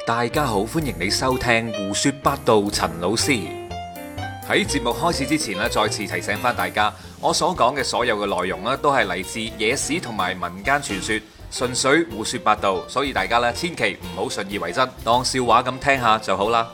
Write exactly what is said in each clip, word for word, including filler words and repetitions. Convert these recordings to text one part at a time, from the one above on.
大家好，歡迎你收聽胡說八道。陳老師喺節目開始之前咧，再次提醒翻大家，我所講嘅所有嘅內容咧，都係嚟自野史同埋民間傳說，純粹胡說八道，所以大家咧千祈唔好信以為真，當笑話咁聽下就好啦。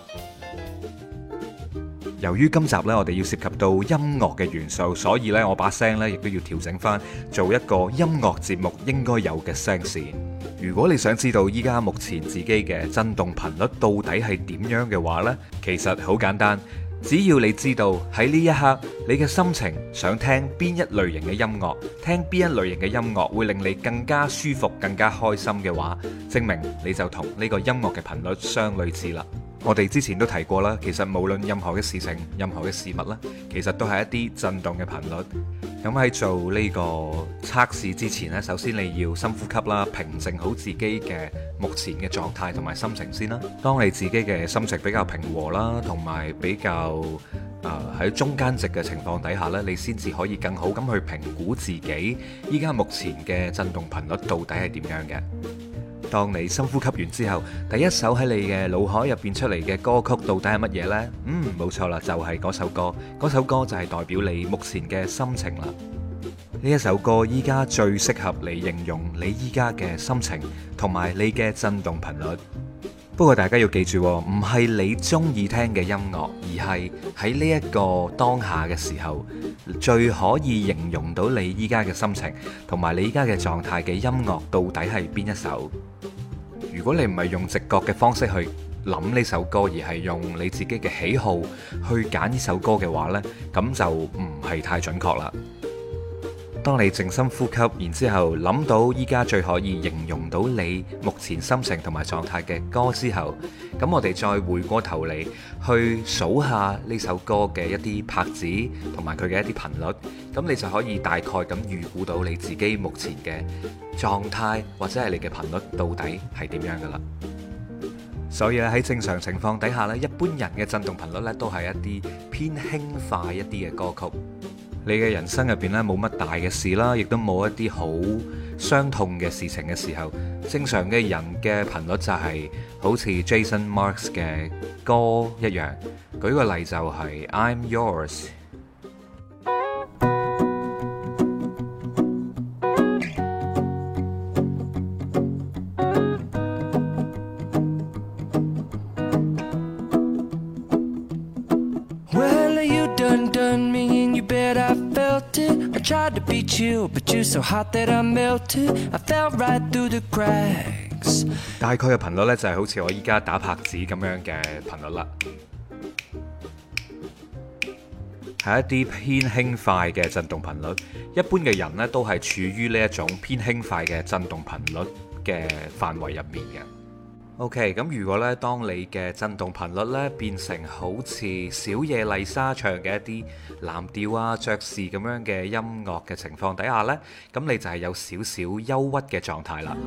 由於今集呢，我哋要涉及到音樂嘅元素，所以呢，我把聲呢亦都要調整翻，做一個音樂節目應該有嘅聲線。如果你想知道依家目前自己嘅震動頻率到底係點樣嘅話呢，其實好簡單，只要你知道喺呢一刻你嘅心情想聽邊一類型嘅音樂，聽邊一類型嘅音樂會令你更加舒服、更加開心嘅話，證明你就同呢個音樂嘅頻率相類似啦。我哋之前都提過啦，其實無論任何嘅事情、任何嘅事物啦，其實都係一啲震動嘅頻率。咁喺做呢個測試之前呢，首先你要深呼吸啦，平靜好自己嘅目前嘅狀態同埋心情先啦。當你自己嘅心情比較平和啦，同埋比較誒喺、呃、中間值嘅情況底下呢，你先至可以更好咁去評估自己依家目前嘅震動頻率到底係點樣嘅。當你深呼吸完之後，第一首喺你嘅腦海入邊出嚟嘅歌曲到底係乜嘢呢？嗯，冇錯啦，就係嗰首歌。嗰首歌就係代表你目前嘅心情啦。呢一首歌依家最適合你形容你依家嘅心情同埋你嘅震動頻率。不過大家要記住，唔係你中意聽嘅音樂，而係喺呢一個當下嘅時候，最可以形容到你依家嘅心情同埋你依家嘅狀態嘅音樂到底係邊一首。如果你唔係用直覺嘅方式去諗呢首歌，而係用你自己嘅喜好去揀呢首歌嘅話呢，咁就唔係太準確啦。當你靜心呼吸，然之後諗到依家最可以形容到你目前心情同埋狀態嘅歌之後，咁我哋再回過頭嚟去數下呢首歌嘅一啲拍子同埋佢嘅一啲頻率，咁你就可以大概咁預估到你自己目前嘅狀態或者係你嘅頻率到底係點樣噶啦。所以咧喺正常情況底下咧，一般人嘅震動頻率咧都係一啲偏輕快一啲嘅歌曲。你嘅人生入邊咧冇乜大嘅事啦，亦都冇一啲好傷痛嘅事情嘅時候，正常嘅人嘅頻率就係好似 Jason Mraz 嘅歌一樣。舉個例就係 I'm Yours。Tried to beat you, but you're so hot that I melted. I fell right through the cracks. 大概嘅頻率呢，就係好似我依家打拍子咁樣嘅頻率啦，係一啲偏輕快嘅震動頻率。一般嘅人呢，都係處於呢一種偏輕快嘅震動頻率嘅範圍入面嘅。OK， 咁如果咧，當你嘅震動頻率咧變成好似小野麗莎唱嘅一啲藍調啊、爵士咁樣嘅音樂嘅情況底下呢，咁你就係有少少憂鬱嘅狀態啦。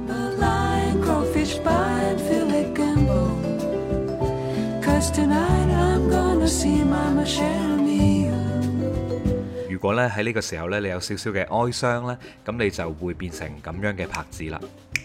如果咧喺呢個時候咧，你有少少嘅哀傷呢，咁你就會變成咁樣嘅拍子啦。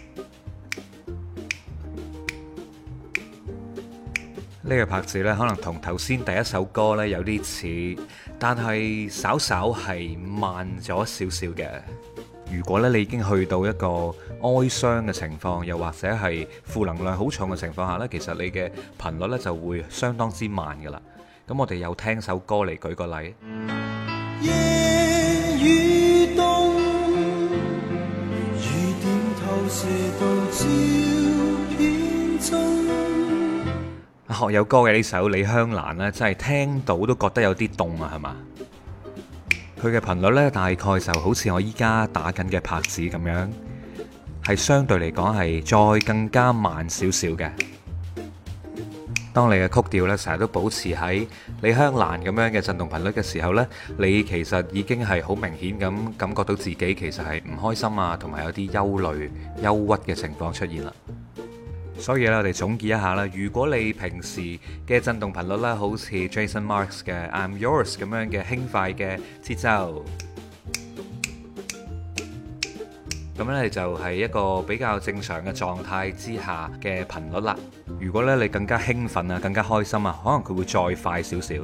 呢個拍子呢，可能同頭先第一首歌呢有啲似，但係稍稍係慢咗少少嘅。如果咧你已經去到一個哀傷嘅情況，又或者係負能量好重嘅情況下呢，其實你嘅頻率呢就會相當之慢噶啦。咁我哋又聽首歌嚟舉個例。夜與冬，雨點透射到朝顯中。學友歌嘅呢首《李香蘭》呢，真係聽到都覺得有啲凍啊，係嘛？佢嘅頻率呢，大概就好似我依家打緊嘅拍子咁樣，係相對嚟講係再更加慢少少嘅。當你嘅曲調呢，成日都保持喺李香蘭咁樣嘅震動頻率嘅時候呢，你其實已經係好明顯咁感覺到自己其實係唔開心啊，同埋有啲憂慮、憂鬱嘅情況出現啦。所以咧，我哋總結一下啦。如果你平時嘅震動頻率咧，好似 Jason Mraz 嘅 I'm Yours 咁樣嘅輕快嘅節奏， 咁咧就係一個比較正常嘅狀態之下嘅頻率啦。如果咧你更加興奮啊，更加開心啊，可能佢會再快少少。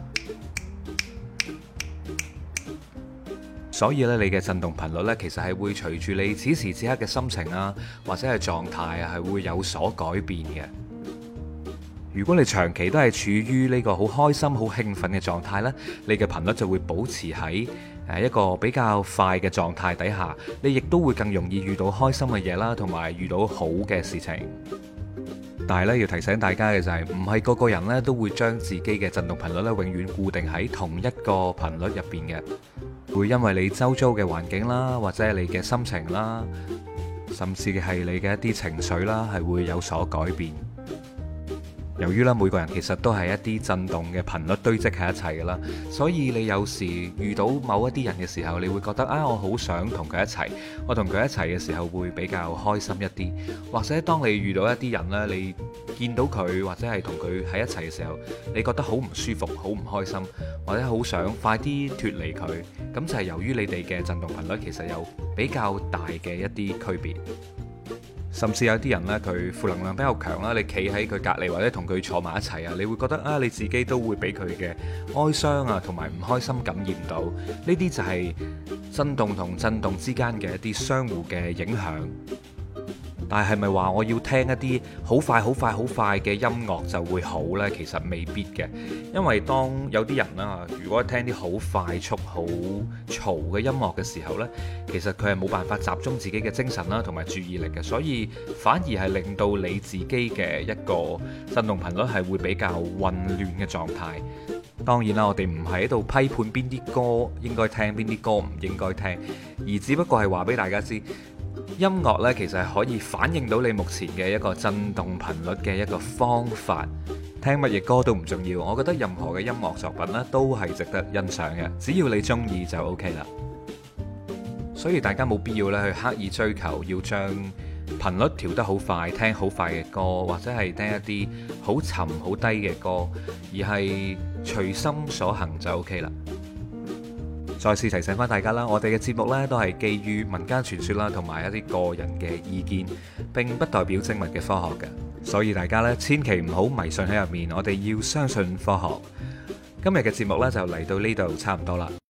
所以咧，你嘅震動頻率咧，其實係會隨住你此時此刻嘅心情啊，或者係狀態啊，係會有所改變嘅。如果你長期都係處於呢個好開心、好興奮嘅狀態呢，你嘅頻率就會保持喺誒一個比較快嘅狀態底下，你亦都會更容易遇到開心嘅嘢啦，同埋遇到好嘅事情。但係咧，要提醒大家嘅就係，唔係個個人呢都會將自己嘅震動頻率咧永遠固定喺同一個頻率入邊嘅，會因為你周遭嘅環境啦，或者係你嘅心情啦，甚至係你嘅一啲情緒啦，係會有所改變。由於咧每個人其實都係一啲震動嘅頻率堆積喺一齊㗎啦，所以你有時遇到某一啲人嘅時候，你會覺得啊，我好想同佢一齊，我同佢一齊嘅時候會比較開心一啲。或者當你遇到一啲人呢，你見到佢或者係同佢喺一齊嘅時候，你覺得好唔舒服、好唔開心，或者好想快啲脫離佢，咁就係由於你哋嘅震動頻率其實有比較大嘅一啲區別。甚至有啲人呢，佢負能量比較強啦，你企喺佢隔離或者同佢坐埋一齊啊，你會覺得啊，你自己都會俾佢嘅哀傷啊同埋唔開心感染到。呢啲就係震動同震動之間嘅一啲相互嘅影響。但係係咪話我要聽一啲好快好快好快嘅音樂就會好呢？其實未必嘅，因為當有啲人啦，如果聽啲好快速、好嘈嘅音樂嘅時候呢，其實佢係冇辦法集中自己嘅精神啦，同埋注意力嘅，所以反而係令到你自己嘅一個震動頻率係會比較混亂嘅狀態。當然啦，我哋唔係喺度批判邊啲歌應該聽，邊啲歌唔應該聽，而只不過係話俾大家知。音樂呢，其實係可以反映到你目前嘅一個震動頻率嘅一個方法。聽乜嘢歌都唔重要，我覺得任何嘅音樂作品呢都係值得欣賞嘅，只要你中意就 OK 啦。所以大家冇必要咧去刻意追求要將頻率調得好快，聽好快嘅歌，或者係聽一啲好沉好低嘅歌，而係隨心所行就 OK 啦。再次提醒翻大家啦，我哋嘅節目呢都係基於民間傳說啦，同埋一啲個人嘅意見，並不代表精密嘅科學嘅，所以大家呢千祈唔好迷信喺入面，我哋要相信科學。今日嘅節目呢就嚟到呢度差唔多啦。